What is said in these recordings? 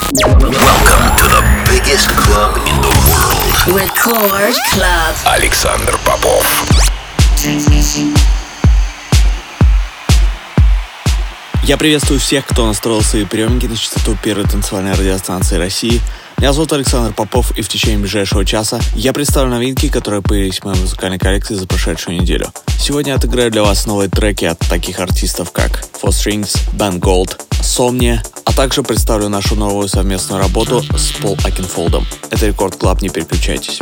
Welcome to the biggest club in the world. Record Club. Александр Попов. Я приветствую всех, кто настроил свои приемники на частоту первой танцевальной радиостанции России. Меня зовут Александр Попов, и в течение ближайшего часа я представлю новинки, которые появились в моей музыкальной коллекции за прошедшую неделю. Сегодня я отыграю для вас новые треки от таких артистов, как Four Strings, Ben Gold, Somnia, а также представлю нашу новую совместную работу с Пол Акинфолдом. Это Рекорд Клаб, не переключайтесь.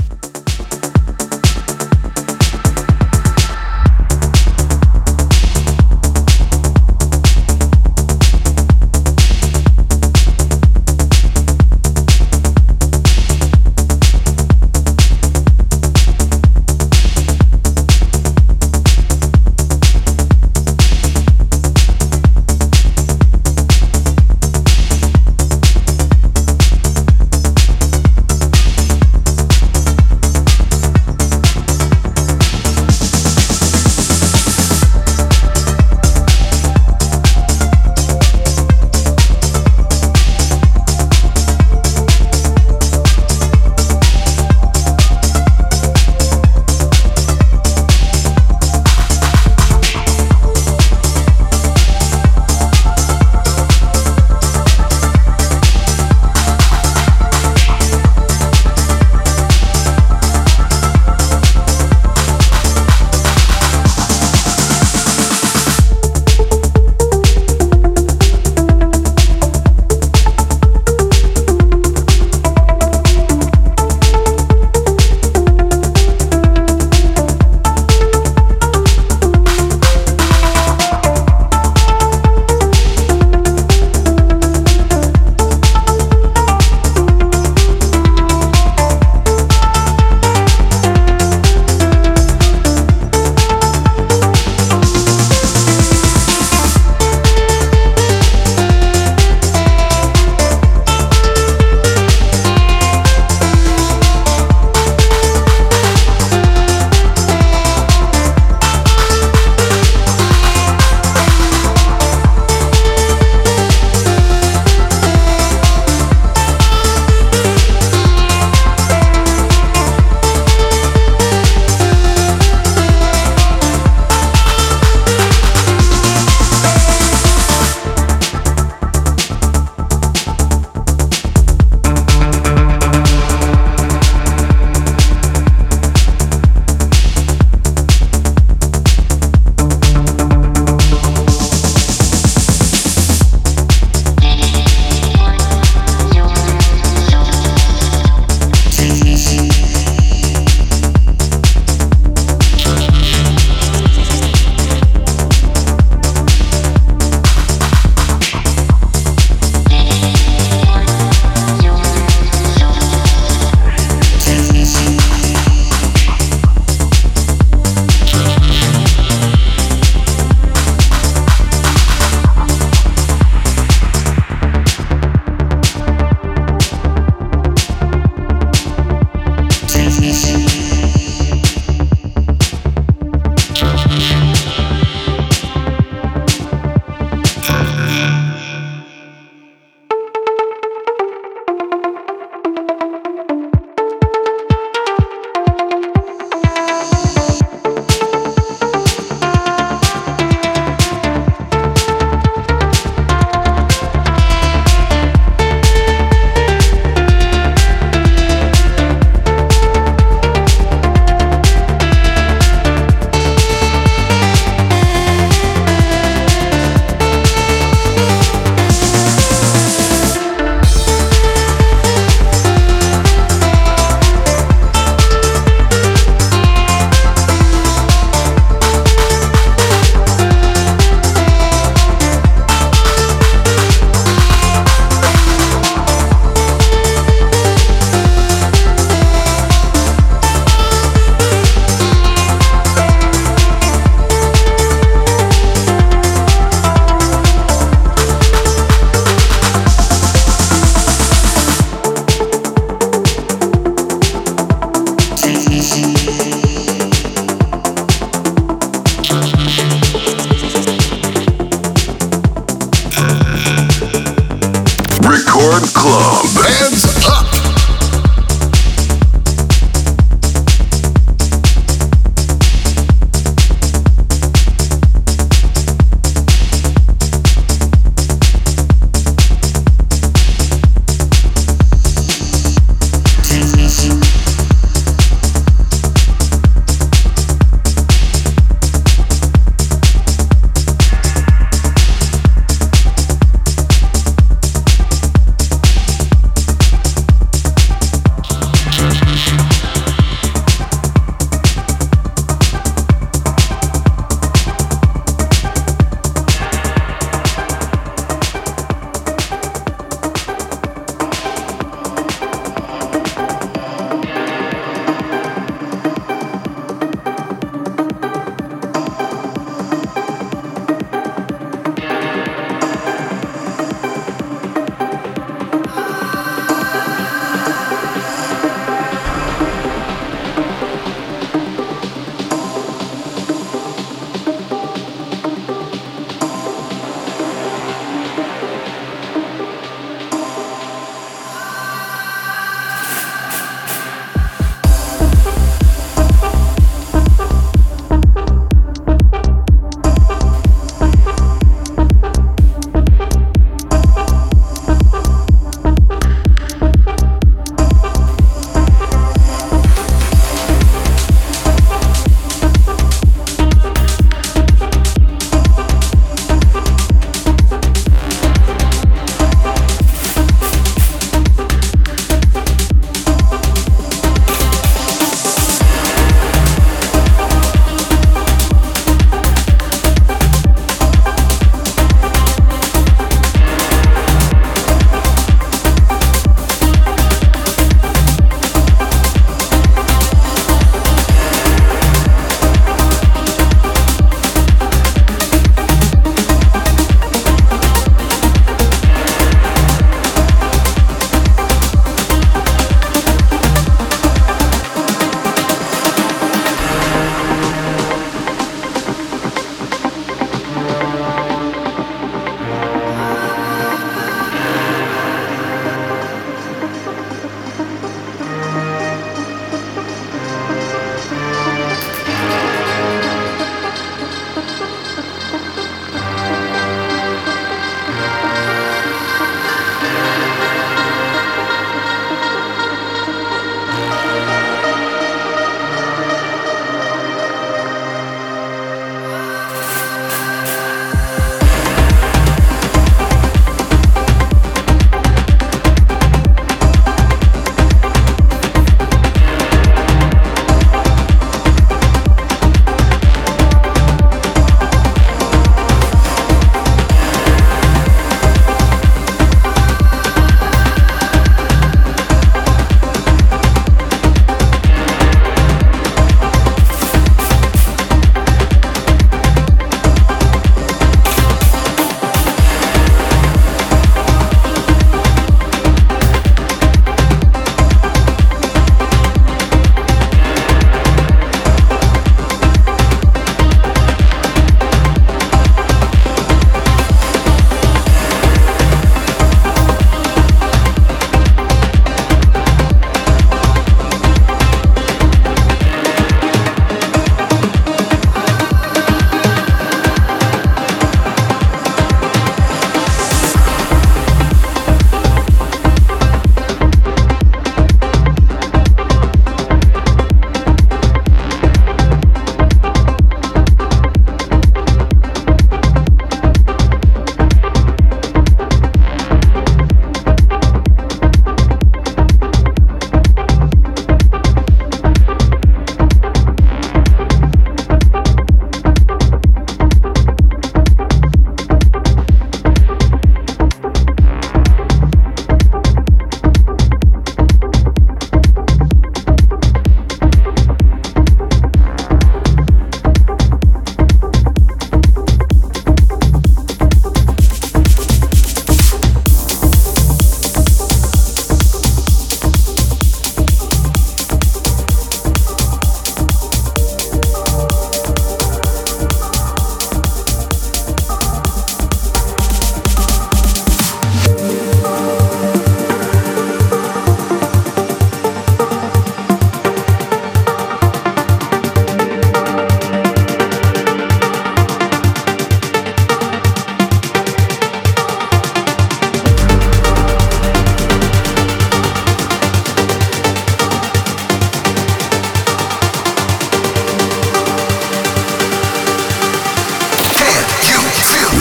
Record Club. Hands up.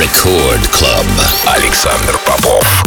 Record Club. Александр Попов.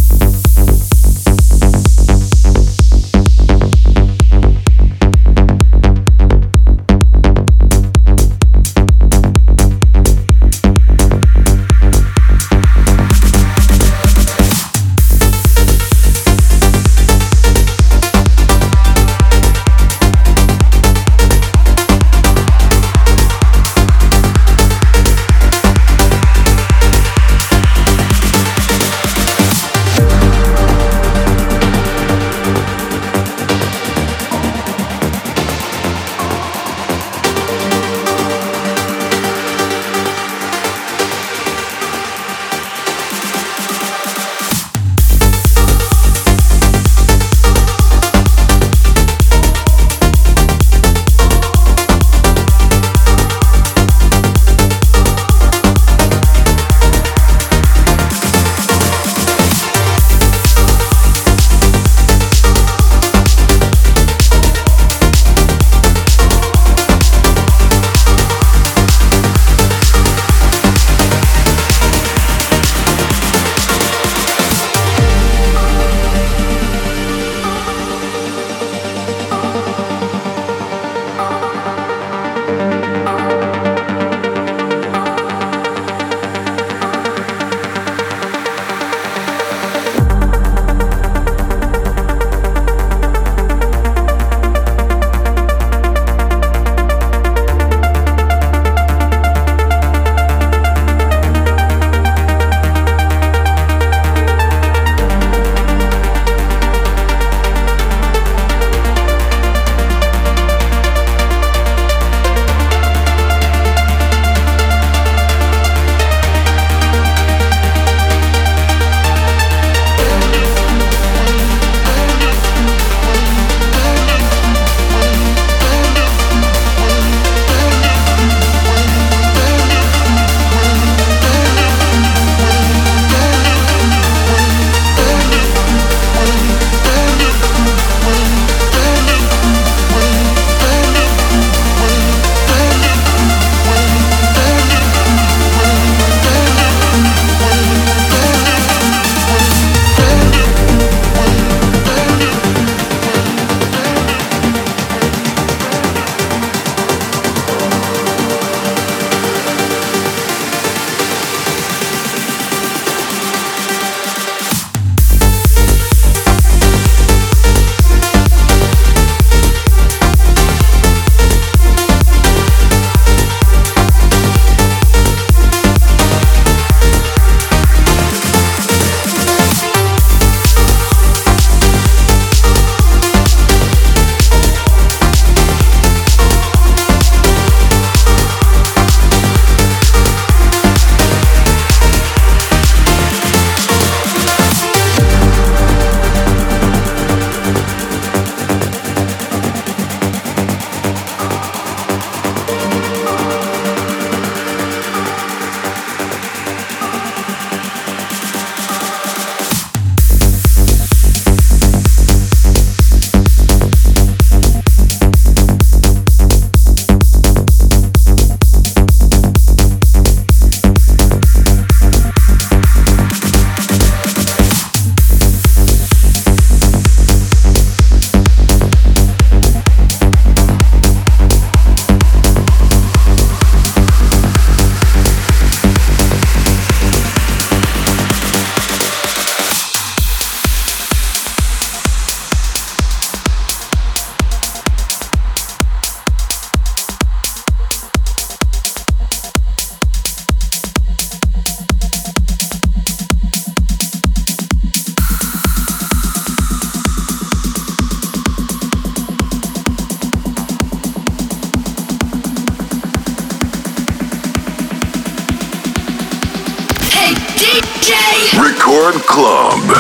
Record Club.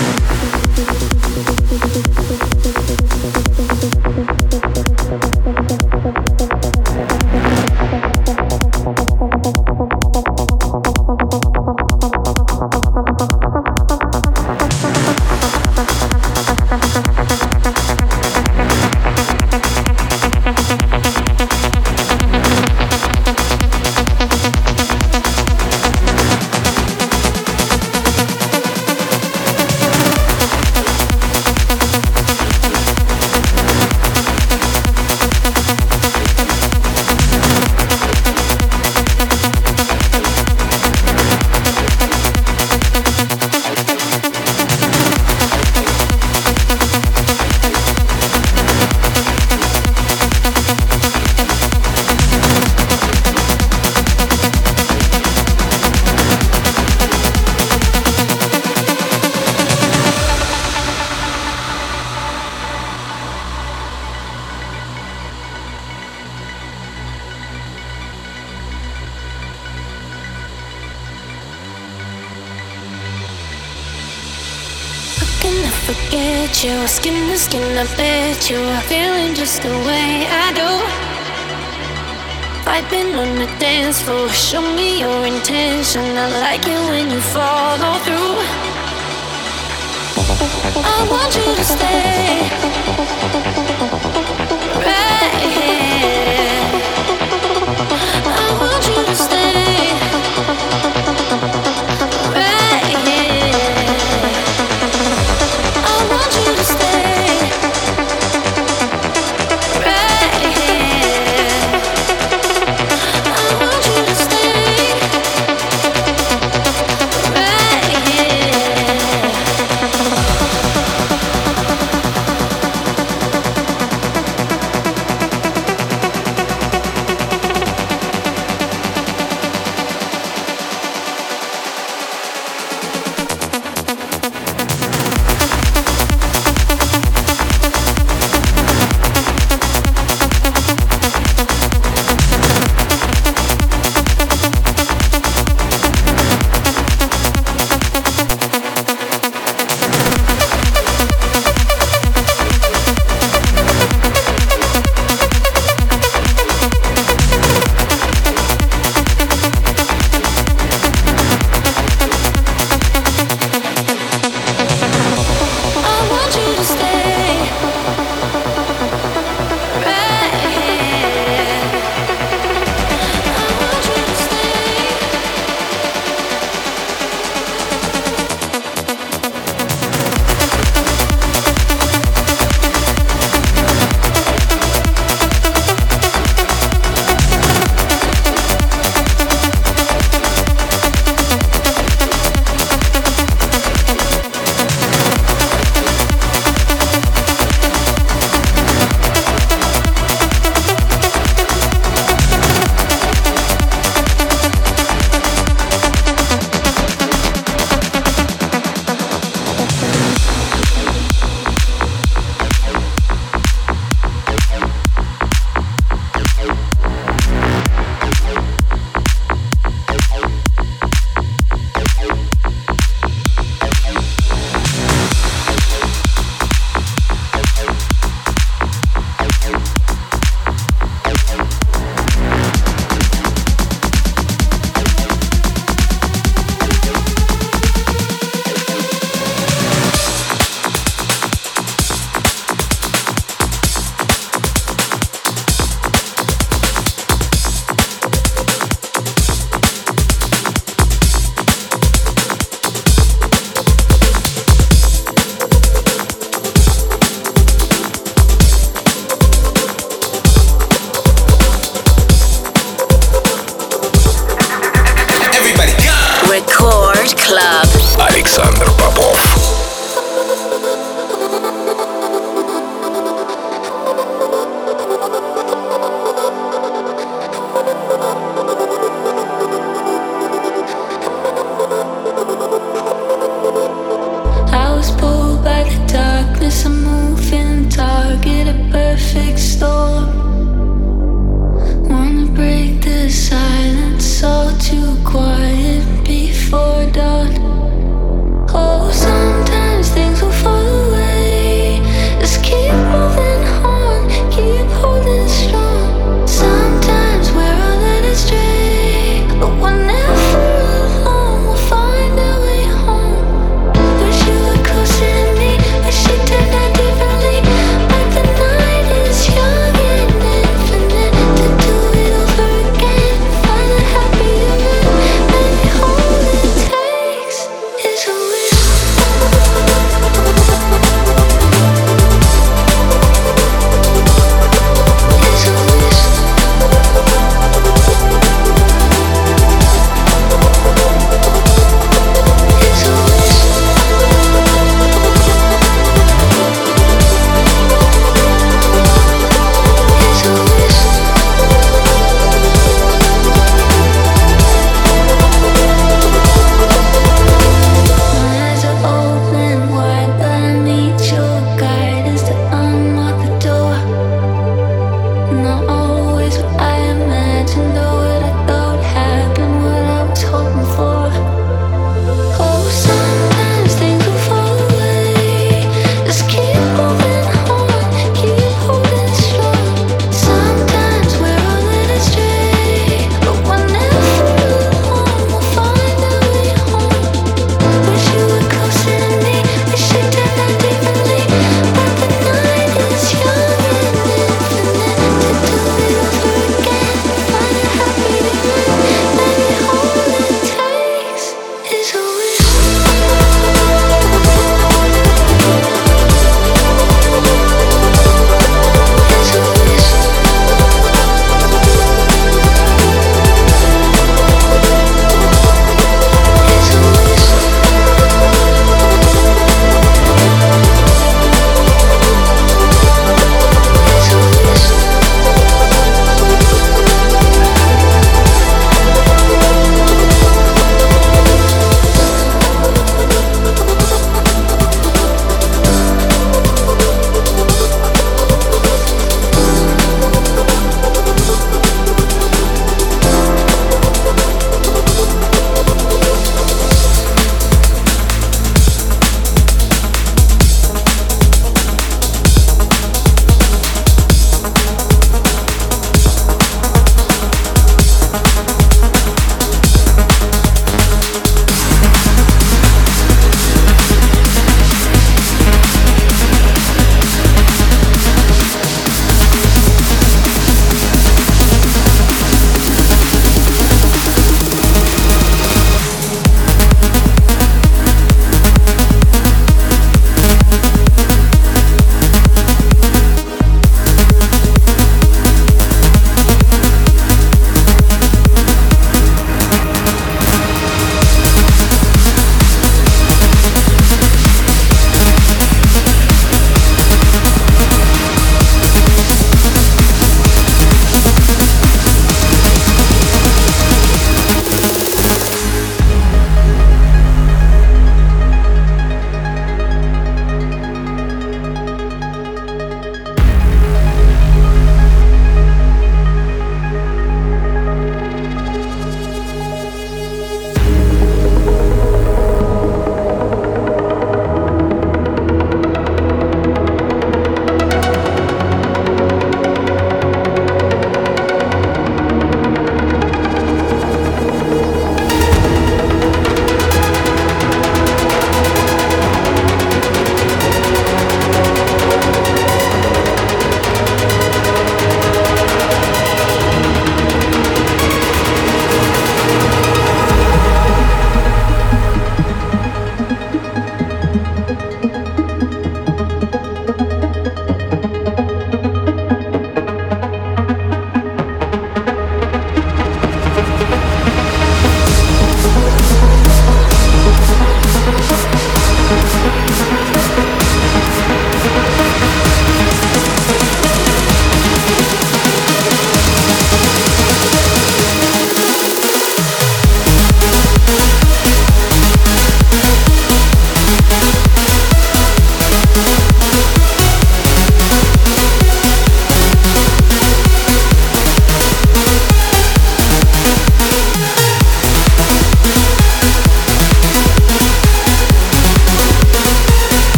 to forget you. Skin to skin, I bet you are feeling just the way I do. Vibing on the dance floor, show me your intention. I like it when you follow through. I want you to stay right here. I want you to stay right here. I want you to stay right here. I want you to stay right here.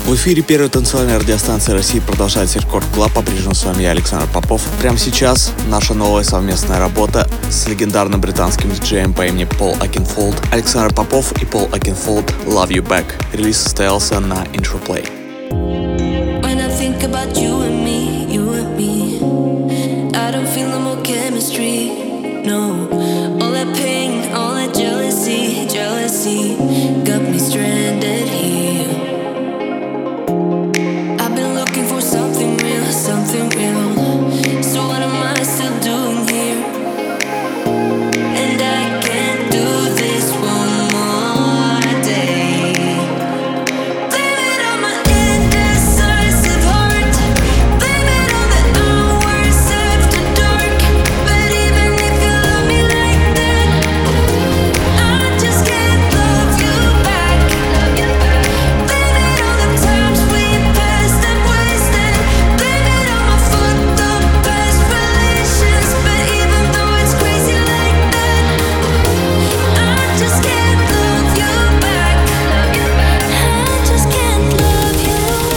В эфире первой танцевальной радиостанции России продолжается Рекорд Клаб. По-прежнему с вами я, Александр Попов. Прямо сейчас наша новая совместная работа с легендарным британским диджеем по имени Пол Окенфолд. Александр Попов и Пол Окенфолд «Love You Back». Релиз состоялся на Introplay. When I think about you and me, I don't feel no more chemistry, no. All that pain, all that jealousy got me stranded here. I've been looking for something real. So what am I still doing here? And I can't do this one more day. Blame it on my indecisive heart. Blame it on the hours after dark. But even if you love me like that, I just can't love you back. Blame it on the times we passed and wasted. Blame it on my fucked up past relations. But even though it's crazy like that, I just can't love you back. I just can't love you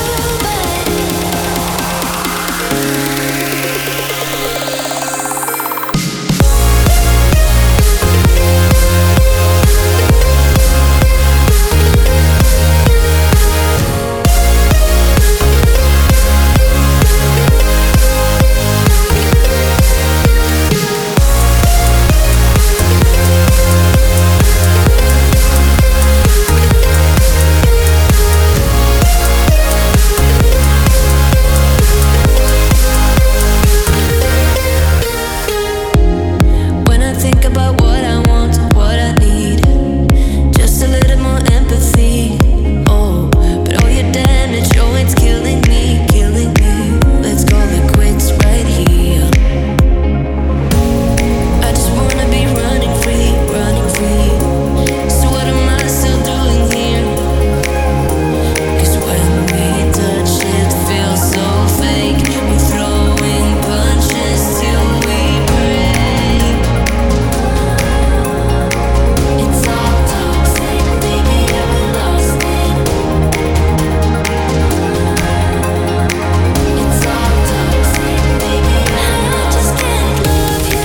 When I think about what I want, what I need, just a little more empathy. Oh, but all your damage, oh, it's killing me. Let's call it quits right here. I just wanna be running free. So what am I still doing here? 'Cause when we touch, it feels so fake. We're throwing punches till we break. It's all toxic, baby, yeah, we lost it. It's all toxic, baby, I just can't love you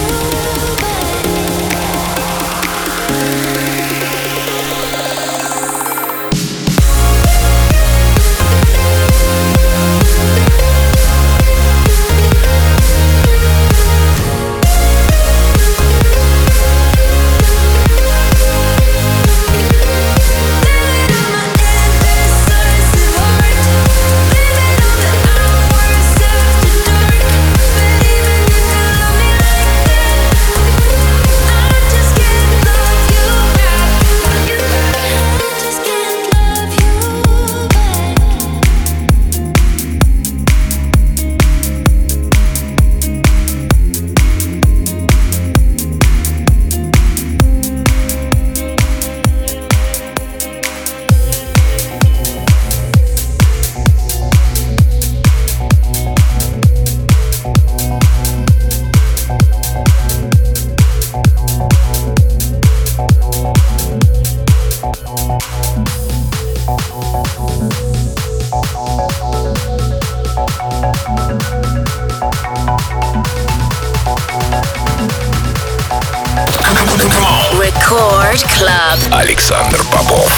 Record Club. Александр Попов.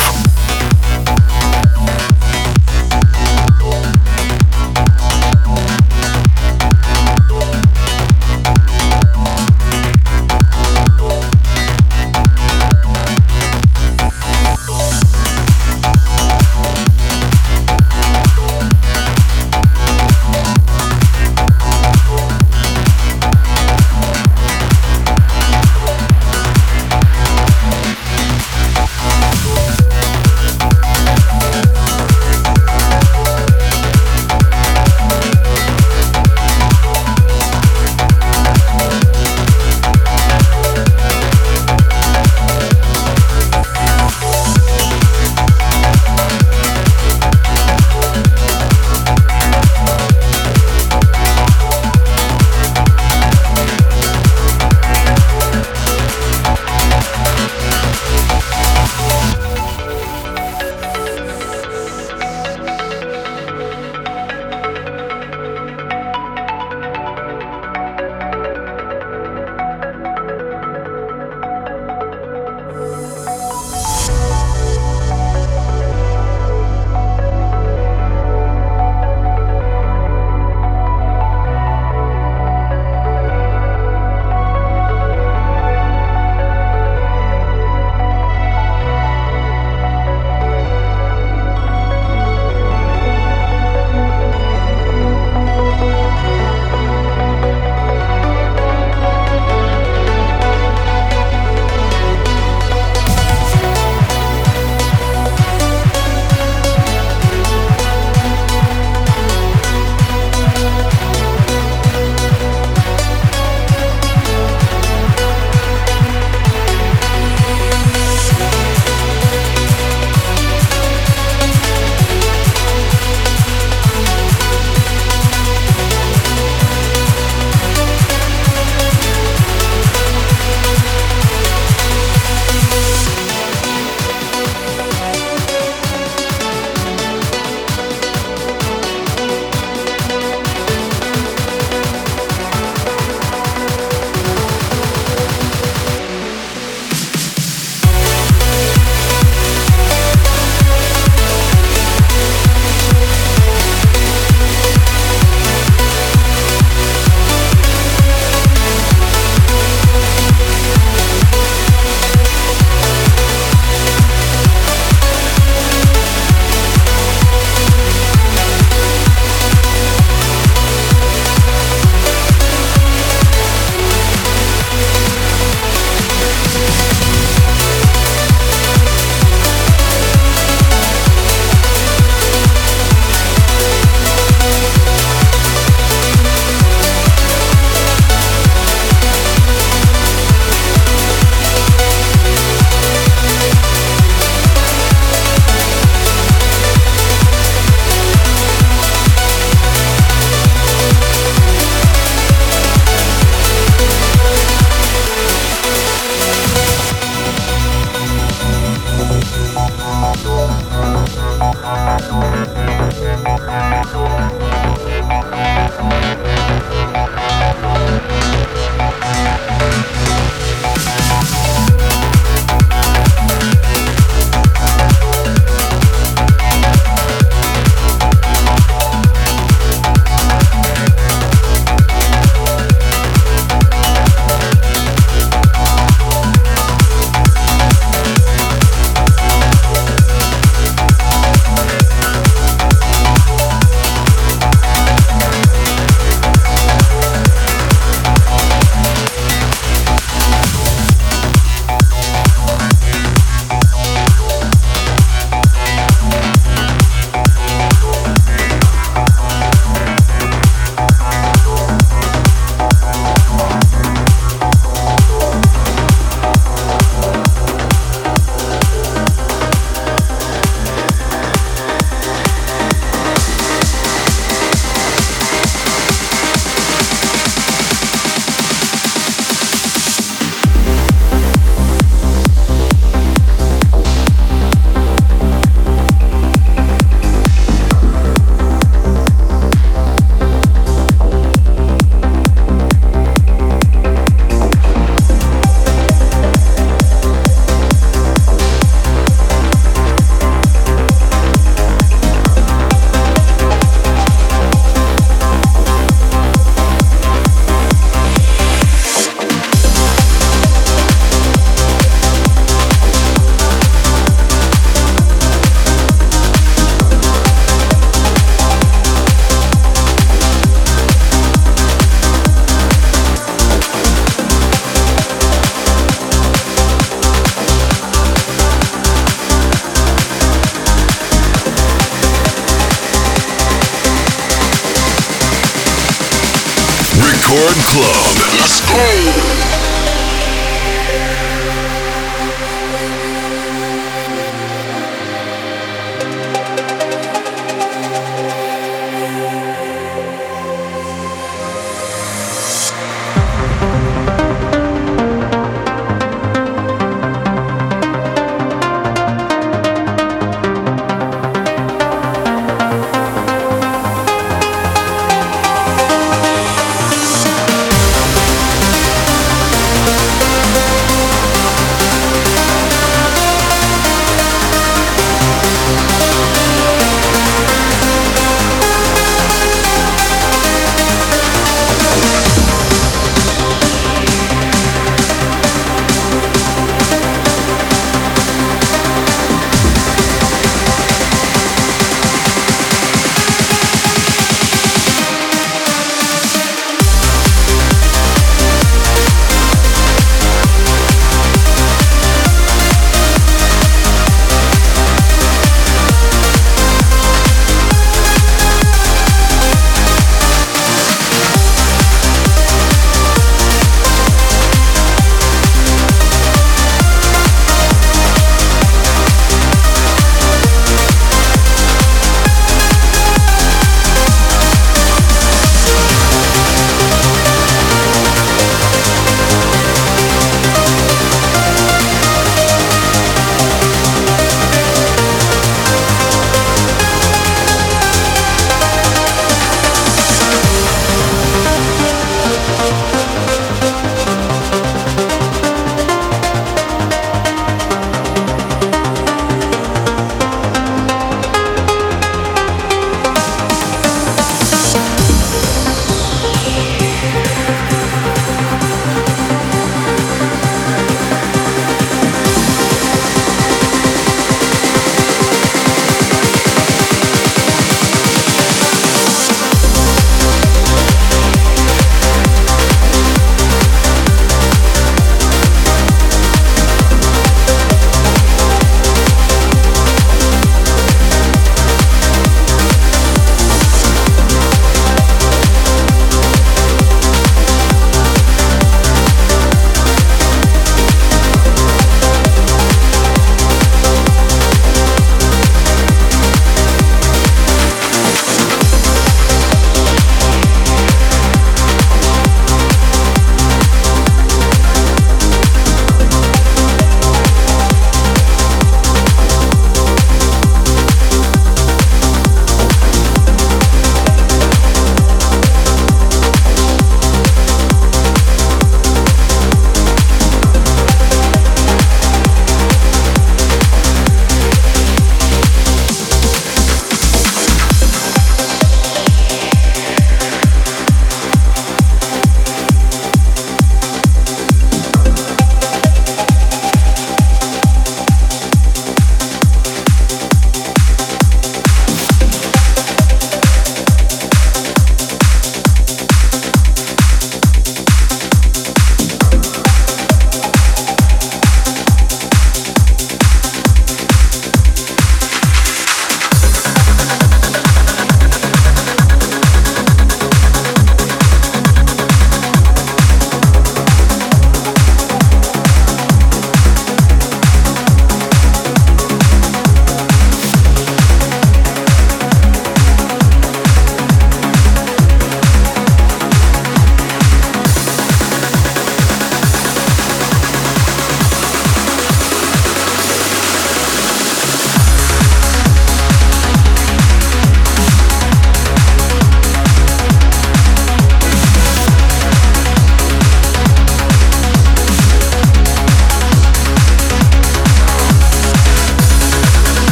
Record Club. Let's go.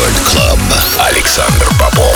Рекорд Клаб. Александр Попов.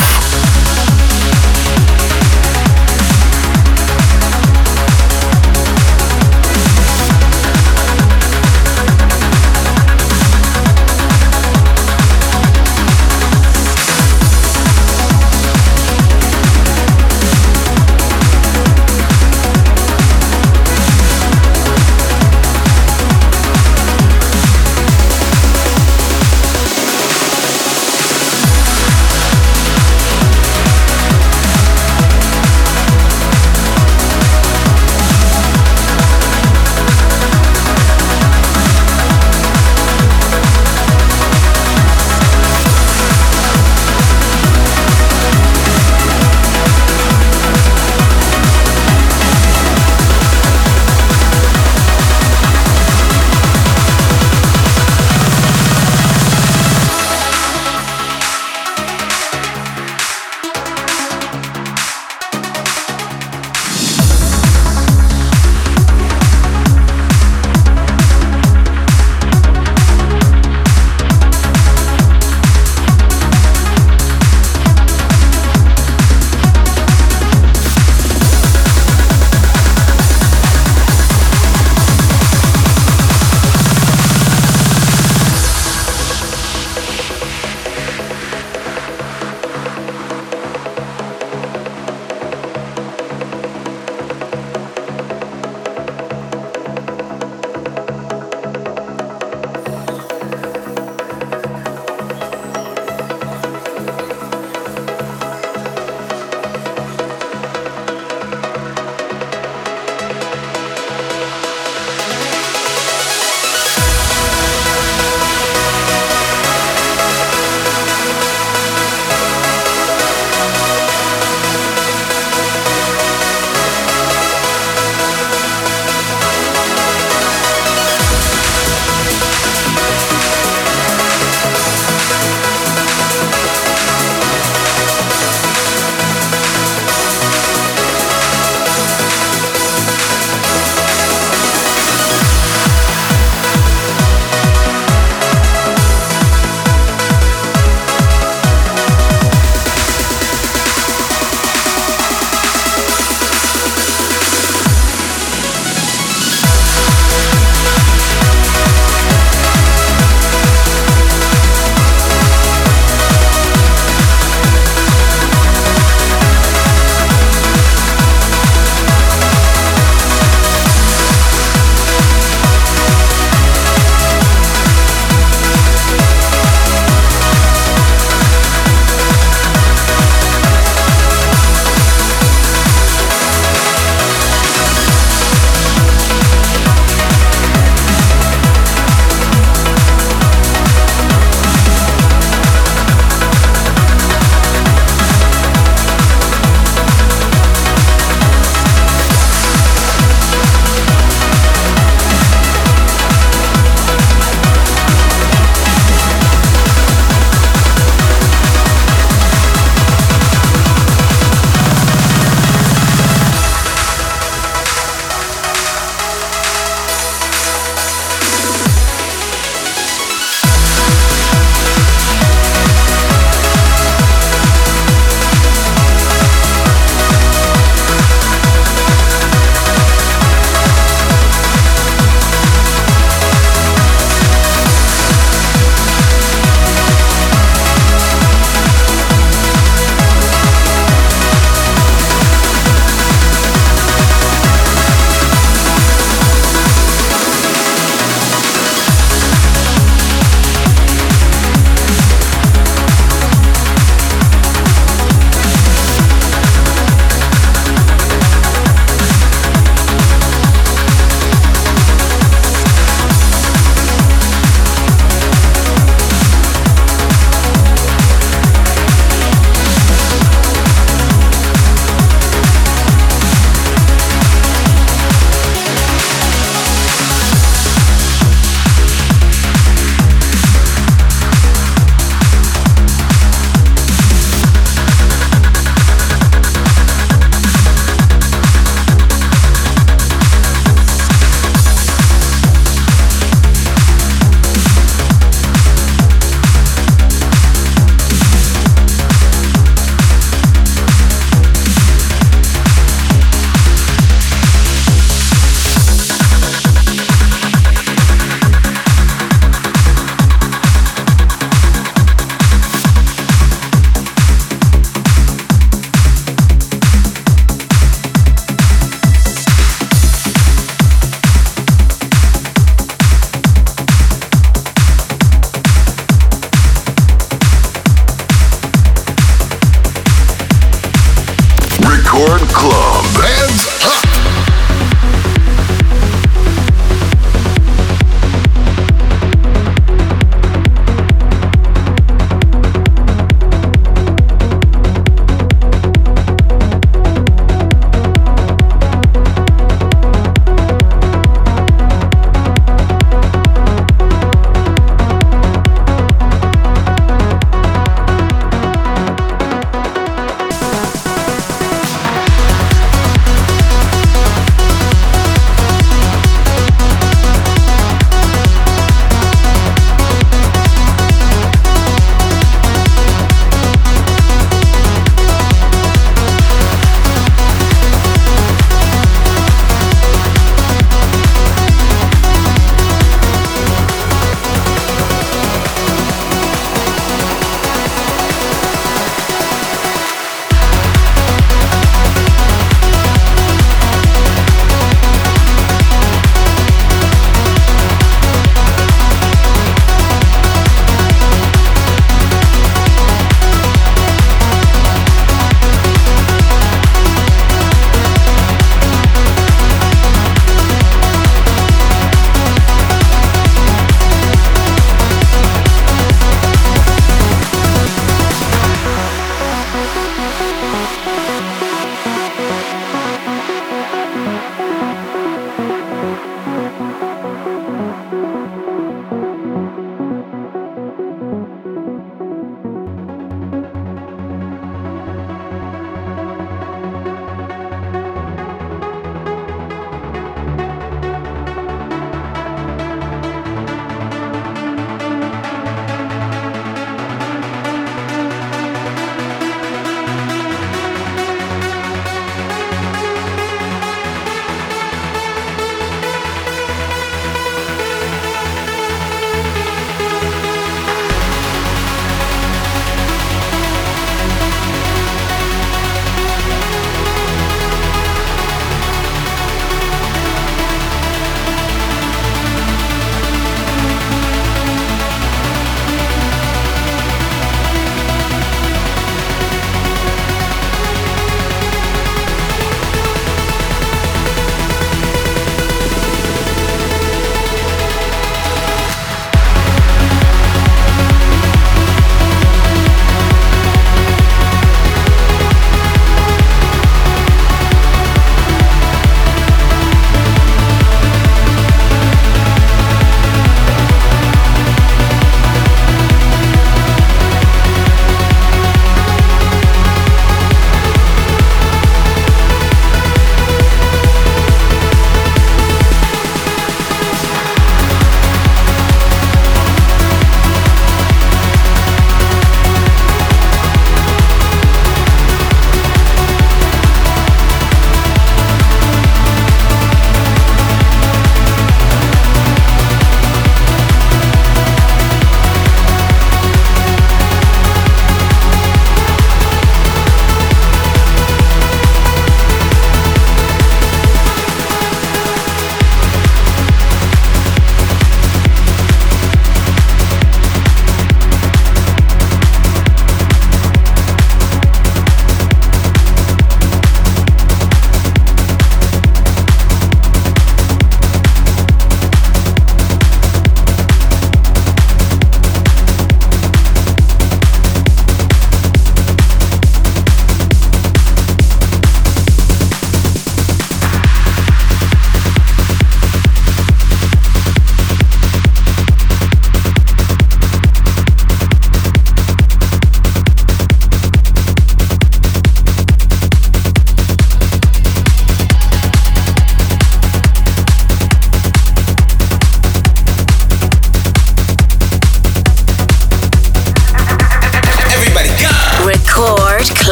Record Club. Hands up!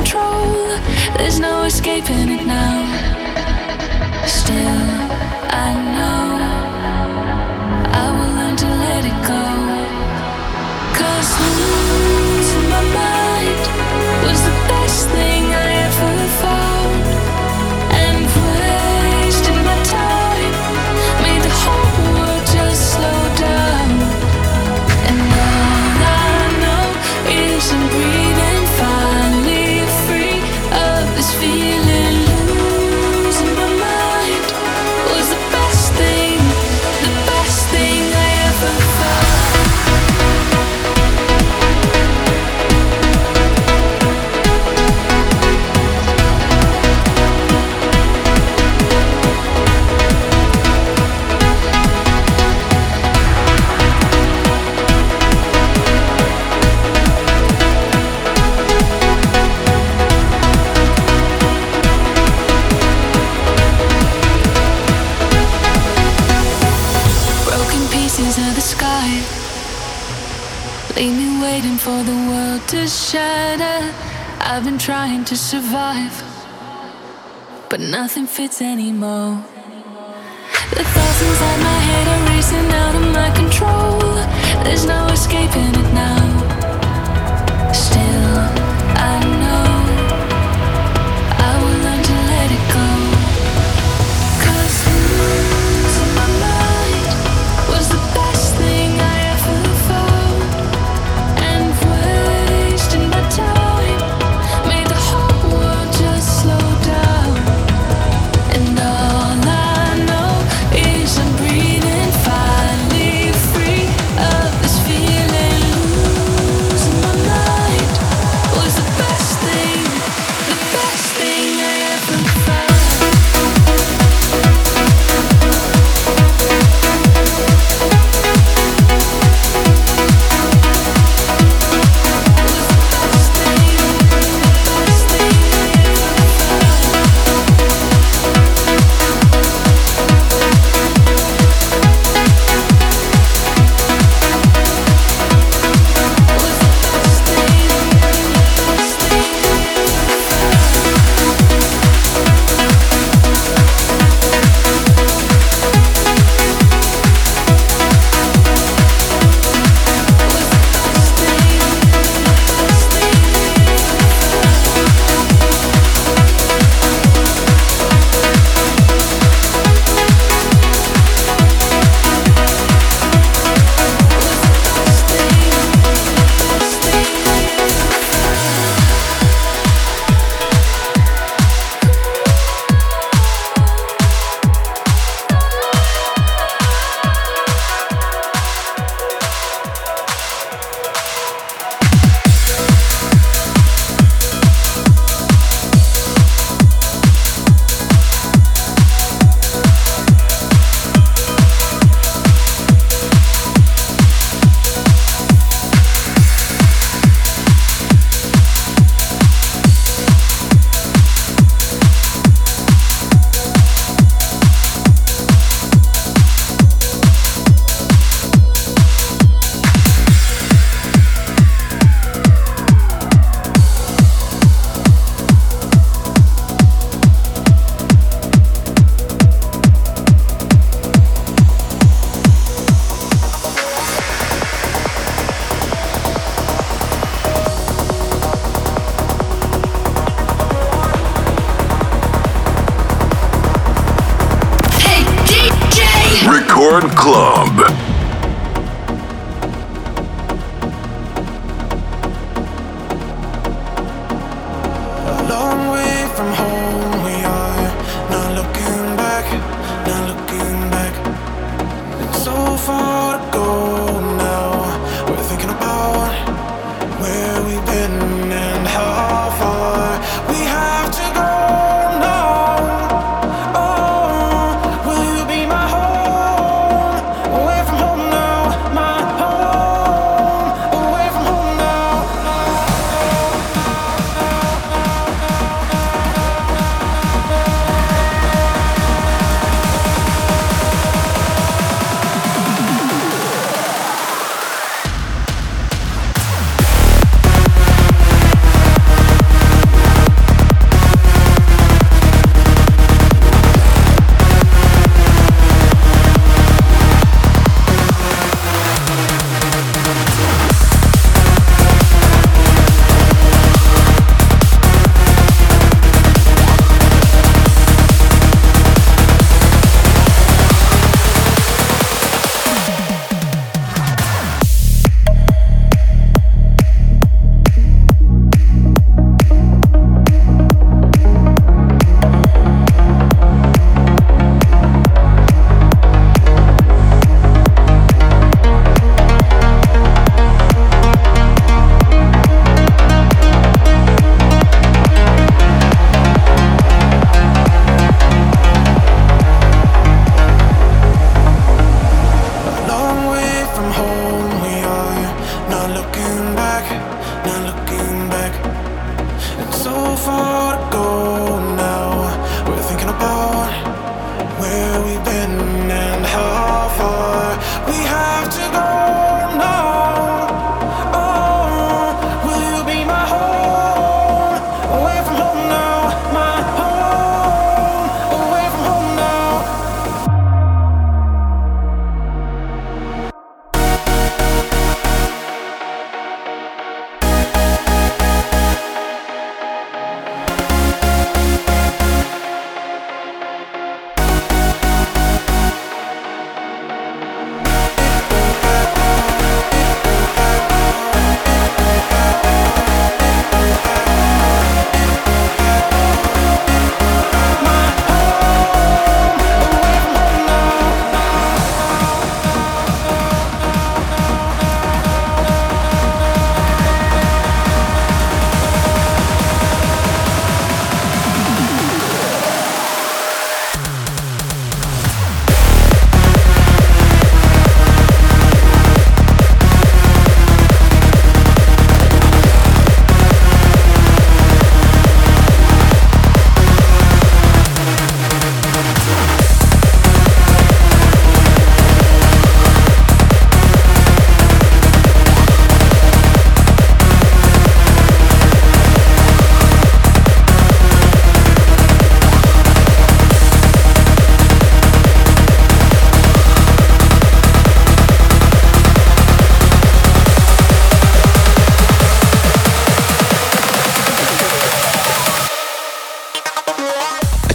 control. There's no escaping it now. Still, I know I will learn to let it go. 'Cause losing my mind was the best thing I ever found. And wasting my time made the whole world just slow down. And all I know is I'm breathing, finally free of this feeling. Losing my mind was the best thing I ever felt. Broken pieces of the sky leave me waiting for the world to shatter. I've been trying to survive, but nothing fits anymore. The thoughts inside my head are racing out of my control. There's no escaping it now. Still, I know I will learn to let it go. 'Cause losing my mind was the best thing I ever found. And wasting my time made the whole world just slow down. And all I know is I'm breathing, finally free of this feeling. Losing my mind was the best thing I ever found. Record Club. Long way from home we are, not looking back, not looking back. It's so far to go now. We're thinking about where we've been and how far we have to go now. Oh, will you be my home? Away from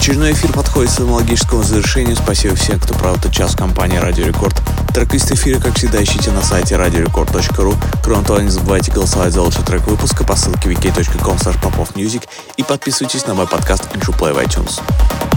Очередной эфир подходит к своему логическому завершению. Спасибо всем, кто провел этот час в компании Радио Рекорд. Трек-лист эфира, как всегда, ищите на сайте radiorecord.ru. Кроме того, не забывайте голосовать за лучший трек выпуска по ссылке wiki.com/popofmusic и подписывайтесь на мой подкаст Intro Play в iTunes.